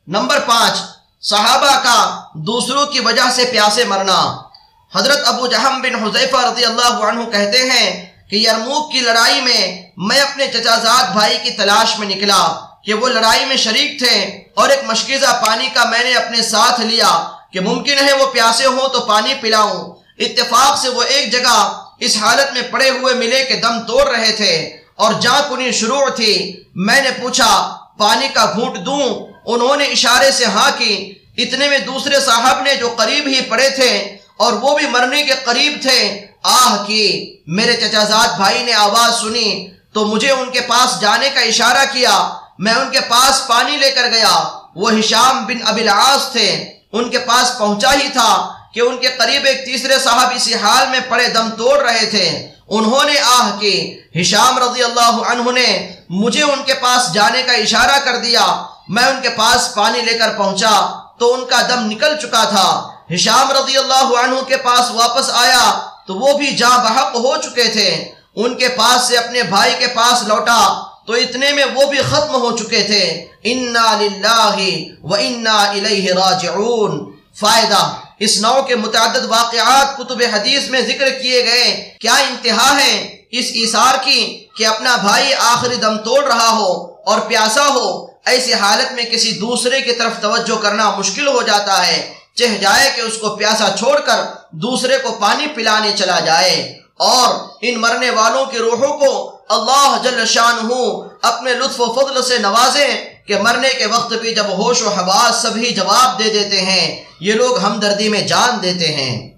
Number 5، صحابہ کا دوسروں کی وجہ سے پیاسے مرنا۔ حضرت ابو جہم بن حذیفہ رضی اللہ عنہ کہتے ہیں کہ یرموک کی لڑائی میں اپنے چچا زاد بھائی کی تلاش میں نکلا کہ وہ لڑائی میں شریک تھے، اور ایک مشکیزہ پانی کا میں نے اپنے ساتھ لیا کہ ممکن ہے وہ پیاسے ہوں تو پانی پلاؤں۔ اتفاق سے وہ ایک جگہ اس حالت میں پڑے ہوئے ملے کہ دم توڑ رہے تھے اور جاں کنی شروع تھی۔ میں نے پوچھا پانی کا گھونٹ دوں؟ انہوں نے اشارے سے ہاں کی۔ اتنے میں دوسرے صاحب نے جو قریب ہی پڑے تھے اور وہ بھی مرنے کے قریب تھے آہ کی۔ میرے چچا زاد بھائی نے آواز سنی تو مجھے ان کے پاس جانے کا اشارہ کیا۔ میں ان کے پاس پانی لے کر گیا۔ وہ ہشام بن ابی العاص تھے۔ ان کے پاس پہنچا ہی تھا کہ ان کے قریب ایک تیسرے صاحب اسی حال میں پڑے دم توڑ رہے تھے۔ انہوں نے آہ کی۔ ہشام رضی اللہ عنہ نے مجھے ان کے پاس جانے کا اشارہ کر دیا۔ میں ان کے پاس پانی لے کر پہنچا تو ان کا دم نکل چکا تھا۔ ہشام رضی اللہ عنہ کے پاس واپس آیا تو وہ بھی جاں بحق ہو چکے تھے۔ ان کے پاس سے اپنے بھائی کے پاس لوٹا تو اتنے میں وہ بھی ختم ہو چکے تھے۔ انا للہ و انا الیہ راجعون۔ فائدہ: اس نوع کے متعدد واقعات کتب حدیث میں ذکر کیے گئے۔ کیا انتہا ہے اس ایثار کی کہ اپنا بھائی آخری دم توڑ رہا ہو اور پیاسا ہو، ایسی حالت میں کسی دوسرے کی طرف توجہ کرنا مشکل ہو جاتا ہے، چہ جائے کہ اس کو پیاسا چھوڑ کر دوسرے کو پانی پلانے چلا جائے۔ اور ان مرنے والوں کی روحوں کو اللہ جل شانہ اپنے لطف و فضل سے نوازے کہ مرنے کے وقت بھی جب ہوش و حواس سبھی جواب دے دیتے ہیں، یہ لوگ ہمدردی میں جان دیتے ہیں۔